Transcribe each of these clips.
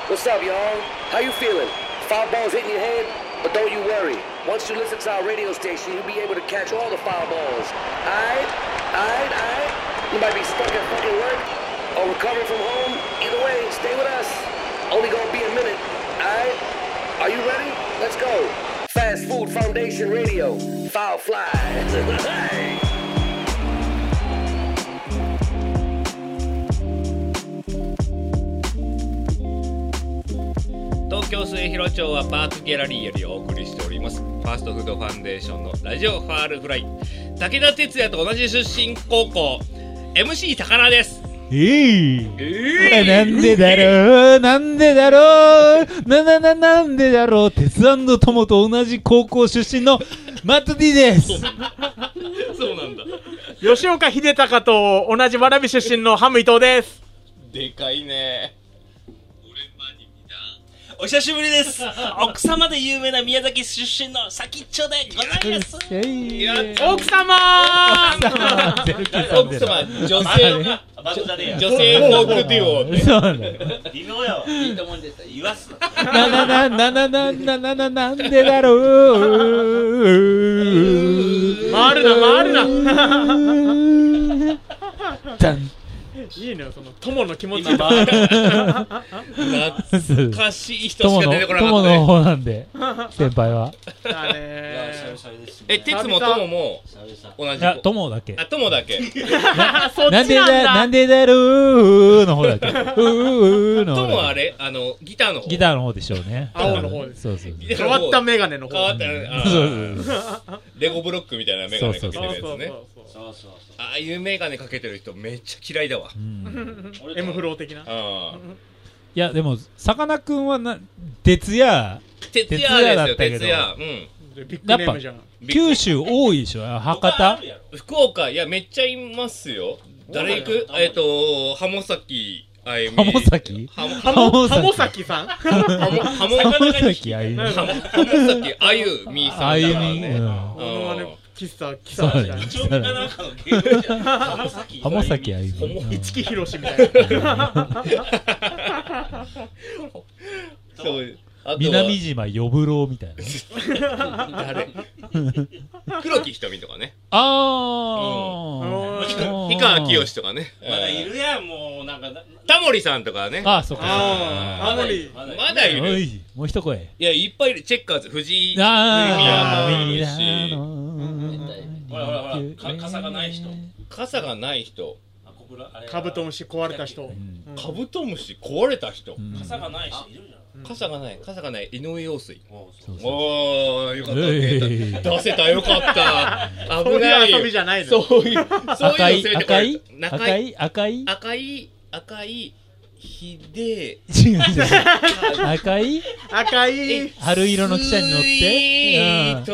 What's up, y'all? How you feeling? Foul balls hitting your head? But don't you worry. Once you listen to our radio station, you'll be able to catch all the foul balls. Aight? You might be stuck at fucking work or recovering from home. Either way, stay with us. Only gonna be a minute. Aight? Are you ready? Let's go. Fast Food Foundation Radio. Foul fly. Hey. 東京末広町はパークギャラリーよりお送りしておりますファーストフードファンデーションのラジオファールフライ。武田鉄矢と同じ出身高校 MC 高田です。 なんでだろうなんでだろう鉄&友と同じ高校出身のマット D です。 そうなんだ。 吉岡秀隆と同じ蕨出身のハム伊藤です。 でかいね。 お久しぶりです。奥様で有名な宮崎出身の先っちょでございます。 奥様女性フォークデュオね。 そうなんだ。 微妙やわ。いいと思うんです言わすなんでだろう回るなダンいいのよ、その友の気持ち懐かしい人しか出てこなかったね。 友の方なんで先輩はだね鉄も友も同じ。 友だけ。 友だけ。 そっちなんだ。 なんでだろうの方だけ。 友はあれギターの方。 ギターの方でしょうね。 青の方です。 そう変わったメガネの方。 変わったレゴブロックみたいなメガネかけてるやつね。ああいうメガネかけてる人めっちゃ嫌いだわ。 M フロー的な。 いやでもさかなクンは鉄矢だったけど、 ビッグネームじゃん。 九州多いでしょ。博多、 福岡。いやめっちゃいますよ。誰行く？浜崎あゆみ。 浜崎さん。 浜崎あゆみ。 浜崎あゆみさん。 あゆみ。 喫茶みたいな。 浜崎あゆみ。 市木ひろしみたいな。 そう。 南島呼ぶろうみたいな。 誰？黒木瞳とかね。 氷川きよしとかね。 まだいるやん。もうなんかタモリさんとかね。 そうか。 まだいる。 もう一声。 いやいっぱいいる。チェッカーズ藤井。 ほら傘がない人。 傘がない人。 カブトムシ壊れた人。 カブトムシ壊れた人。 傘がない人いるじゃん。 傘がない井上陽水。おーよかった。出せたよかった。危ないよ。 そういう遊びじゃないの。 そういう赤いひで赤い春色の汽車に乗って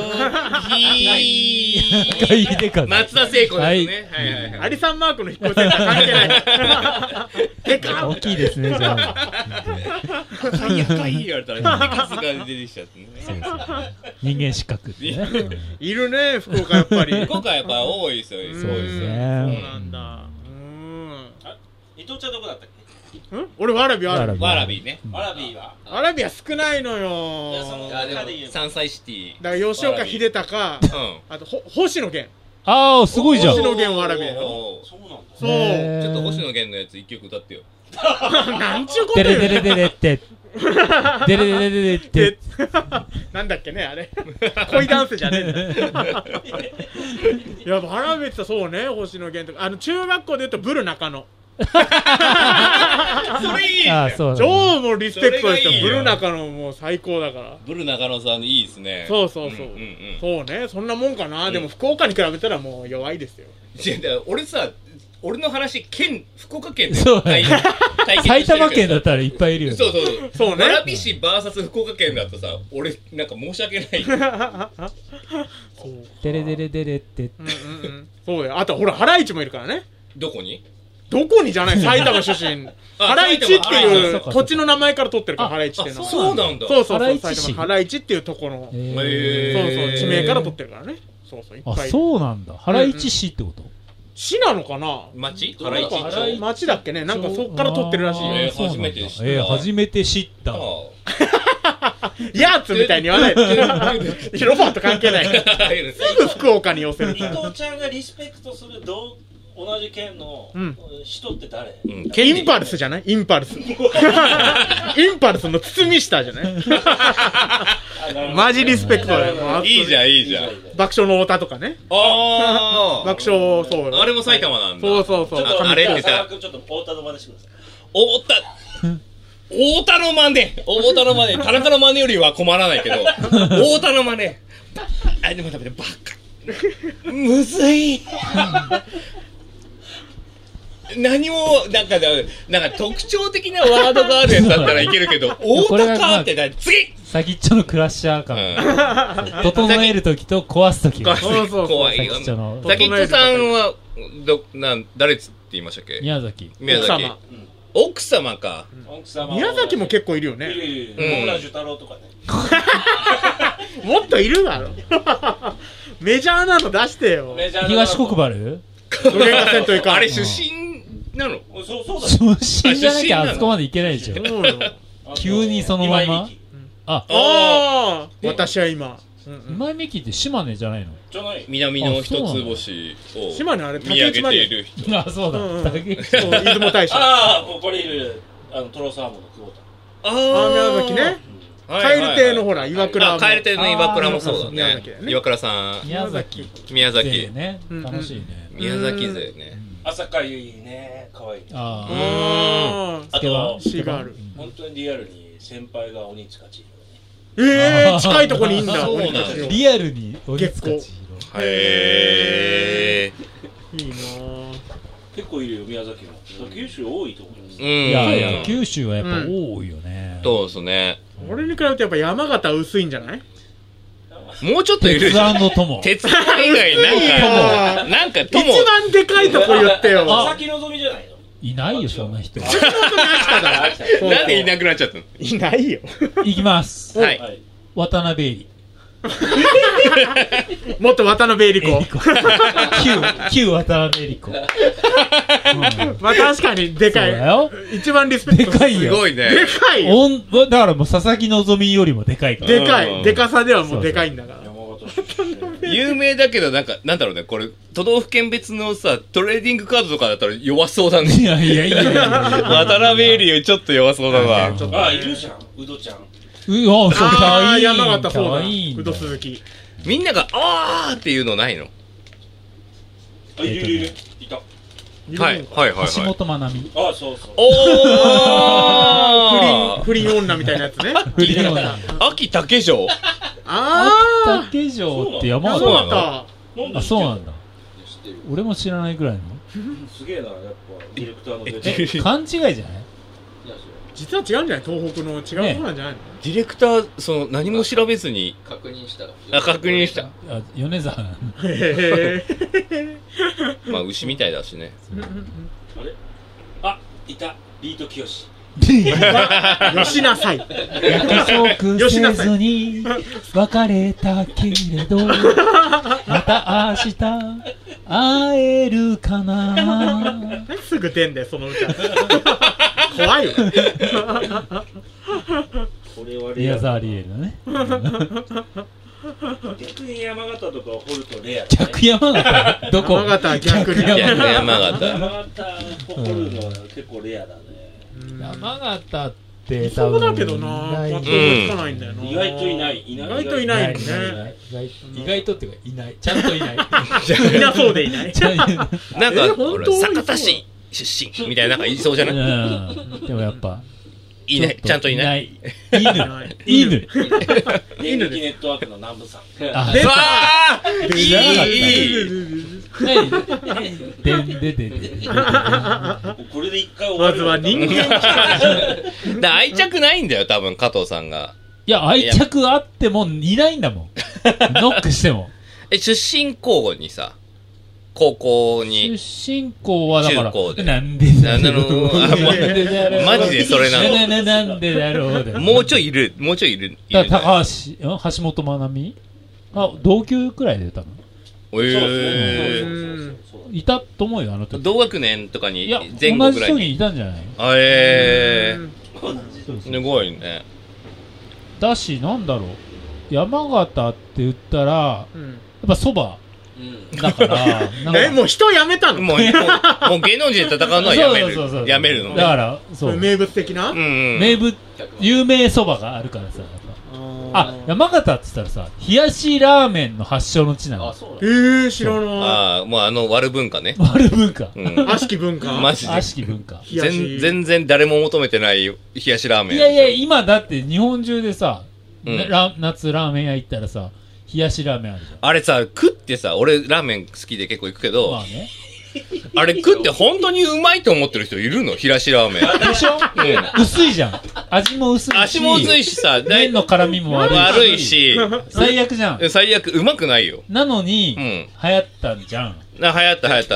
赤いでか松田聖子ですね。 アリサンマークの引っ越しセンター関係ない。でか大きいですね。じゃあ赤い言われたら数が出てきちゃってね。 人間失格ってね。 いるね福岡やっぱり。 福岡やっぱ多いですよ。 そうですね。 そうなんだ。 伊藤ちゃんどこだったっけ？ 俺わらびね。 わらびは少ないのよ。 山菜シティだから吉岡秀隆、あと星野源。 すごいじゃん。 星野源わらびやろ。 そうなんだ。 そう。 ちょっと星野源のやつ一曲歌ってよ。 なんちゅうことよ。 デレデレデレってデレデレデレってなんだっけねあれ。恋ダンスじゃねえんだ。いやわらびってそうね星野源とか中学校で言うとブル中野。 それいい。 超もうリスペクトですよ。ブル中野もう最高だから。 ブル中野さんいいですね。 そうそうねそんなもんかな。でも福岡に比べたらもう弱いですよ。 俺の話福岡県で埼玉県だったらいっぱいいるよ。 そうね。 蕨市 VS 福岡県だとさ俺なんか申し訳ない。 デレデレデレってそうだよ。あとほらハライチもいるからね。 どこにじゃない埼玉出身。ハライチっていう土地の名前から取ってるからハライチっていうのは。 そうなんだ。 そう埼玉ハライチっていうところのそう地名から取ってるからね。そういっぱい。 そうなんだ。ハライチ市ってこと？ 市なのかな。 町原市町町だっけね。なんかそっから取ってるらしいよ。 初めて知った初めて知った。 ヤーツみたいに言わないで。ロバート関係ない。すぐ福岡に寄せる。 伊藤ちゃんがリスペクトする同じ県の人って誰？ インパルスじゃない？インパルス。インパルスの堤下じゃないマジリスペクトだよ。 いいじゃんいいじゃん。 爆笑の太田とかね。 ああ爆笑、そうよ。 あれも埼玉なんだ。 そうそうそう。 あれってさ、 ちょっと太田の真似してください。 太田の真似。太田の真似。田中の真似よりは困らないけど、太田の真似。あ、でもダメだ、バカ。むずい。何もなんか特徴的なワードがあるやつだったらいけるけど、太田かって次。 先っちょのクラッシャー感。整えるときと壊すときが。 怖いよ。先っちょさんは誰って言いましたっけ？ 宮崎。 奥様か。 宮崎も結構いるよね。 野村寿太郎とかね。 もっといるだろ。メジャーなの出してよ。 東国原？ あれ出身なの？ そうだ。 出身じゃなきゃあそこまでいけないでしょ。急にそのまま。 あ、私は今。 今井美樹って島根じゃないの？ じゃない。 南の一つ星を島根あれ見上げている人。 あ、そうだ。 出雲大社。 ああ、これいるトロサーモンの久保田。 宮崎ね。蛙亭のほら岩倉。 蛙亭の岩倉もそうだね。岩倉さん。 宮崎ね。楽しいね。 宮崎勢ね。 朝香ゆいね、可愛い。 あとシーガール。 本当にリアルに先輩が鬼塚千尋。 近いとこにいんだ。 リアルに鬼塚千尋。 へえ。いいな。 結構いるよ宮崎も。九州多いと思います。 いや九州はやっぱ多いよね。 そうですね。 俺に比べてやっぱ山形薄いんじゃない？ もうちょっといる。 鉄腕の友。 鉄腕以外なんか友。 一番でかいとこ言ってよ。 佐々木希じゃないの？ いないよそんな人。 なんでいなくなっちゃったの？ いないよ。 いきます。 はい。 渡辺恵里。 もっと渡辺恵里子。 旧渡辺恵里子。 まあ確かにでかい。一番リスペクト。 でかいよ。 すごいね。 でかいよ。 だからもう佐々木希よりもでかいから。 でかい。でかさではもうでかいんだから。 有名だけどなんだろうね、これ都道府県別のさトレーディングカードとかだったら弱そうだね。 いや渡辺恵里よりちょっと弱そうだな。 あ、いるじゃん、うどちゃん。 山形そうだ。うど鈴木。 みんながあーっていうのないの？ いるいた。 はい橋本まなみ。 あ、そう。 不倫女みたいなやつね。 不倫女。 秋竹城。 秋竹城って山形なの？ あ、そうなんだ。俺も知らないぐらいの。 すげえな、やっぱディレクターの出て。 勘違いじゃない？ 実は違うんじゃない？東北の違うとこなんじゃないの？ ディレクター何も調べずに確認した。 米沢。 まあ牛みたいだしね。 あれ？あ、いた。ビートきよし。 よしなさい。 約束せずに別れたけれどまた明日会えるかな。 すぐ出んだよその歌。怖いよ。 これは宮沢りえるね。 逆に山形とか掘るとレア。 逆山形？どこ？ 山形逆に。 山形掘るのは結構レアだね。 山形ってそうだけどな、パッとつかないんだよな。 意外といない。 意外といないね。 意外とっていうかいない。ちゃんといない。 いなそうでいない。 なんか酒田市出身みたいななんか言いそうじゃない？ でもやっぱいない。ちゃんといない。 犬。 電撃ネットワークの南部さん。 うわーいい。 これで一回終わる。 まずは人間愛着ないんだよ多分加藤さんが。 いや愛着あってもいないんだもん。ノックしても。 出身校にさ高校に出身校はだからなんでだろう。マジでそれなの。 なんでだろう。 もうちょいいる。 高橋本まなみ同級くらいで歌うの？ いたと思うよ、あの時。 同学年とかにいや、 前後ぐらいに。 同じ人にいたんじゃない？ すごいね。 だし、なんだろう。山形って言ったら、やっぱ蕎麦。だから、 もう人辞めたの？ もう芸能人で戦うのはやめる。やめるのね。 だから、そう。 名物的な？ 名物、有名蕎麦があるからさ。あ、山形って言ったらさ、冷やしラーメンの発祥の地なの。 知らない。 もう割る文化ね。 割る文化。 悪しき文化。 マジで。 悪しき文化。 全然誰も求めてない冷やしラーメン。 いや、今だって日本中でさ、夏ラーメン屋行ったらさ、冷やしラーメンあるじゃん。 あれさ、食ってさ、俺ラーメン好きで結構行くけど、 まあね。 あれ食って本当にうまいと思ってる人いるの？冷やしラーメン。 でしょ？薄いじゃん。味も薄いし。 味も薄いしさ、 麺の絡みも悪いし。最悪じゃん。 最悪、うまくないよ。 なのに、流行ったんじゃん。 流行った。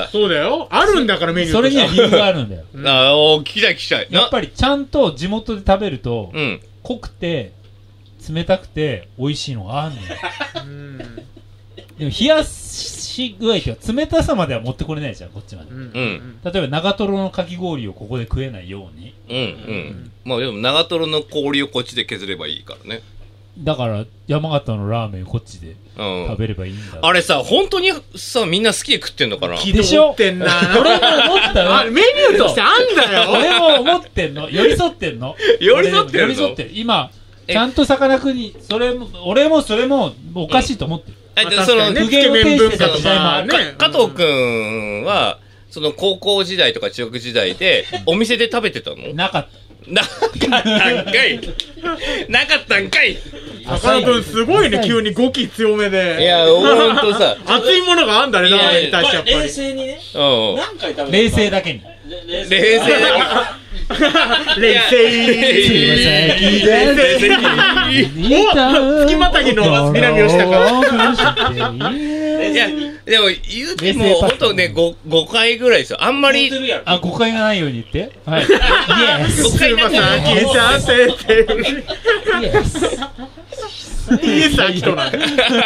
そうだよ。あるんだからメニューそれには理由があるんだよ。 聞きたい。 やっぱりちゃんと地元で食べると、濃くて、冷たくて、美味しいのがあるのよ。でも冷やし具合って冷たさまでは持ってこれないじゃん、こっちまで。例えば長瀞のかき氷をここで食えないように。 まあでも長瀞の氷をこっちで削ればいいからね。 だから山形のラーメンこっちで食べればいいんだ。 あれさ、本当にさ、みんな好きで食ってんのかな？ でしょ？ってんな。 俺も思ったよ。 メニューとしてあんだよ。 俺も思ってんの。寄り添ってんの。 寄り添ってるの？ 今、ちゃんとさかなクンに、俺もそれもおかしいと思ってる。 その苦言を呈してた時代もある。 加藤くんはその高校時代とか中学時代でお店で食べてたの？ なかった。 なかったんかい。 高野くんすごいね、急に語気強めで。 いや、ほんとさ、 熱いものがあんだね、ラーメンに対してやっぱり。 冷静にね。何回食べた？ 冷静だけに。 冷静だけ冷静月またぎの南をしたからいや、でも言うてもほんとね、5回ぐらいですよ。あんまり誤解がないように言って。はい。 5回なんだイエスは人なんだ。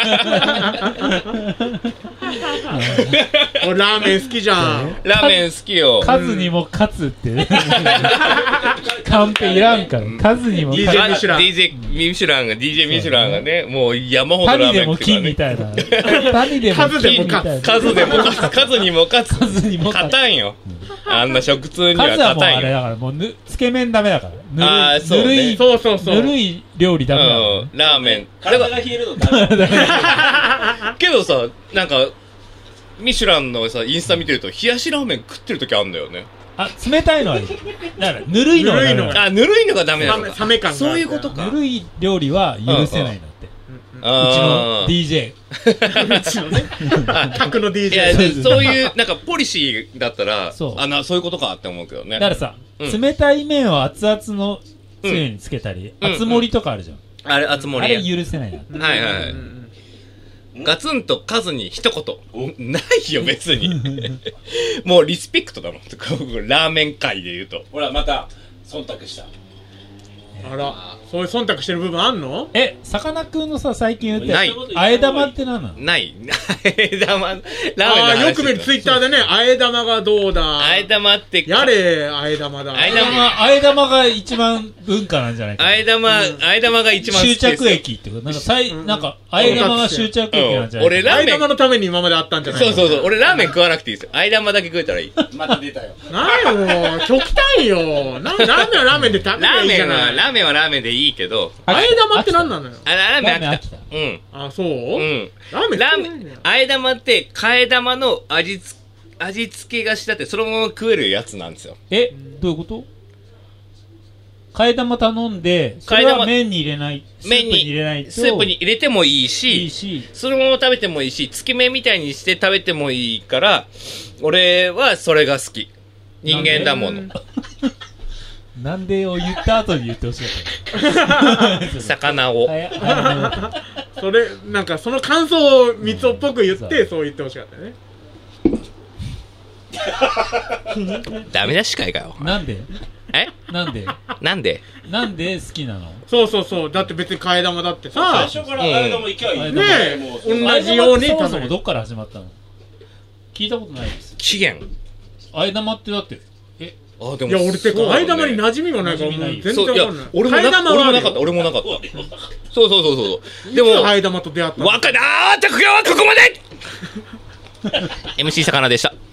俺ラーメン好きじゃん。 ラーメン好きよ。 数にも勝つってカンペいらんから。数にも勝つ。 DJ ミシュランがね、もう山ほどラーメン食うからね。 谷でも金みたいな。谷でも金みたいな。 数にも勝つ。勝たんよ。あんな食通には勝たんよ。 数はもうあれだから、もうつけ麺ダメだから。ぬるい料理ダメだから。 ラーメン。 体が冷えるのダメだ。 けどさ、なんかミシュランのさインスタ見てると冷やしラーメン食ってる時あんだよね。 冷たいのはいい。だからぬるいのがダメだ。 ぬるいのがダメなのか。 冷め感が。 そういうことか。 ぬるい料理は許せないんだって。うちの DJ。 うちのね。客の DJ。 いや、そういうなんかポリシーだったら、そういうことかって思うけどね。 だからさ、冷たい麺を熱々のつゆにつけたり、熱盛りとかあるじゃん。 あれ熱盛り。 あれ許せないな。 はいはい。ガツンと数に一言。ないよ別に。もうリスペクトだもん。ラーメン界で言うと。 ほらまた忖度した。 あら、そういう忖度してる部分あんの？ さかなクンのさ、最近言ってないあえ玉って何なの？ ない。あえ玉、ラーメンの話。 よく見るツイッターでね、あえ玉がどうだ。 あえ玉って。 やれ、あえ玉だ。 あえ玉が一番文化なんじゃないかな。 あえ玉が一番好きですよ。 終着駅ってこと。なんか、あえ玉が終着駅なんじゃないかな。 俺ラーメン。 あえ玉のために今まであったんじゃないか。 そう。俺ラーメン食わなくていいですよ。あえ玉だけ食えたらいい。 また出たよ。 ないもう、極端よ。ラーメンはラーメンで食べればいいじゃない。 ラーメンはラーメンでいいけど。 あえ玉って何なのよ。 ラーメン飽きた。うん。 あ、そう？ うん。 ラーメンあえ玉って替え玉の味付けがしてあってそのまま食えるやつなんですよ。 どういうこと？替え玉頼んで、それは麺に入れない、スープに入れないと。 スープに入れてもいいし、そのまま食べてもいいし、つけ麺みたいにして食べてもいいから、俺はそれが好き。人間だもの。 なんでを言った後に言ってほしかった。 魚を。 それ、なんかその感想をみつおっぽく言って、そう言ってほしかったよね。 ダメな司会かよ。 なんで？ なんでなんで好きなの？ そうだって別に替え玉だってさ、 最初から替え玉いきゃいいねえ、同じようにそもそもどっから始まったの？聞いたことないです。 起源。 替え玉ってだってでもいや俺てか替え玉に馴染みがないからもう全然わかんない。 俺もなかった。そうでも替え玉と出会った。 じゃあ今日はここまでMC 魚でした。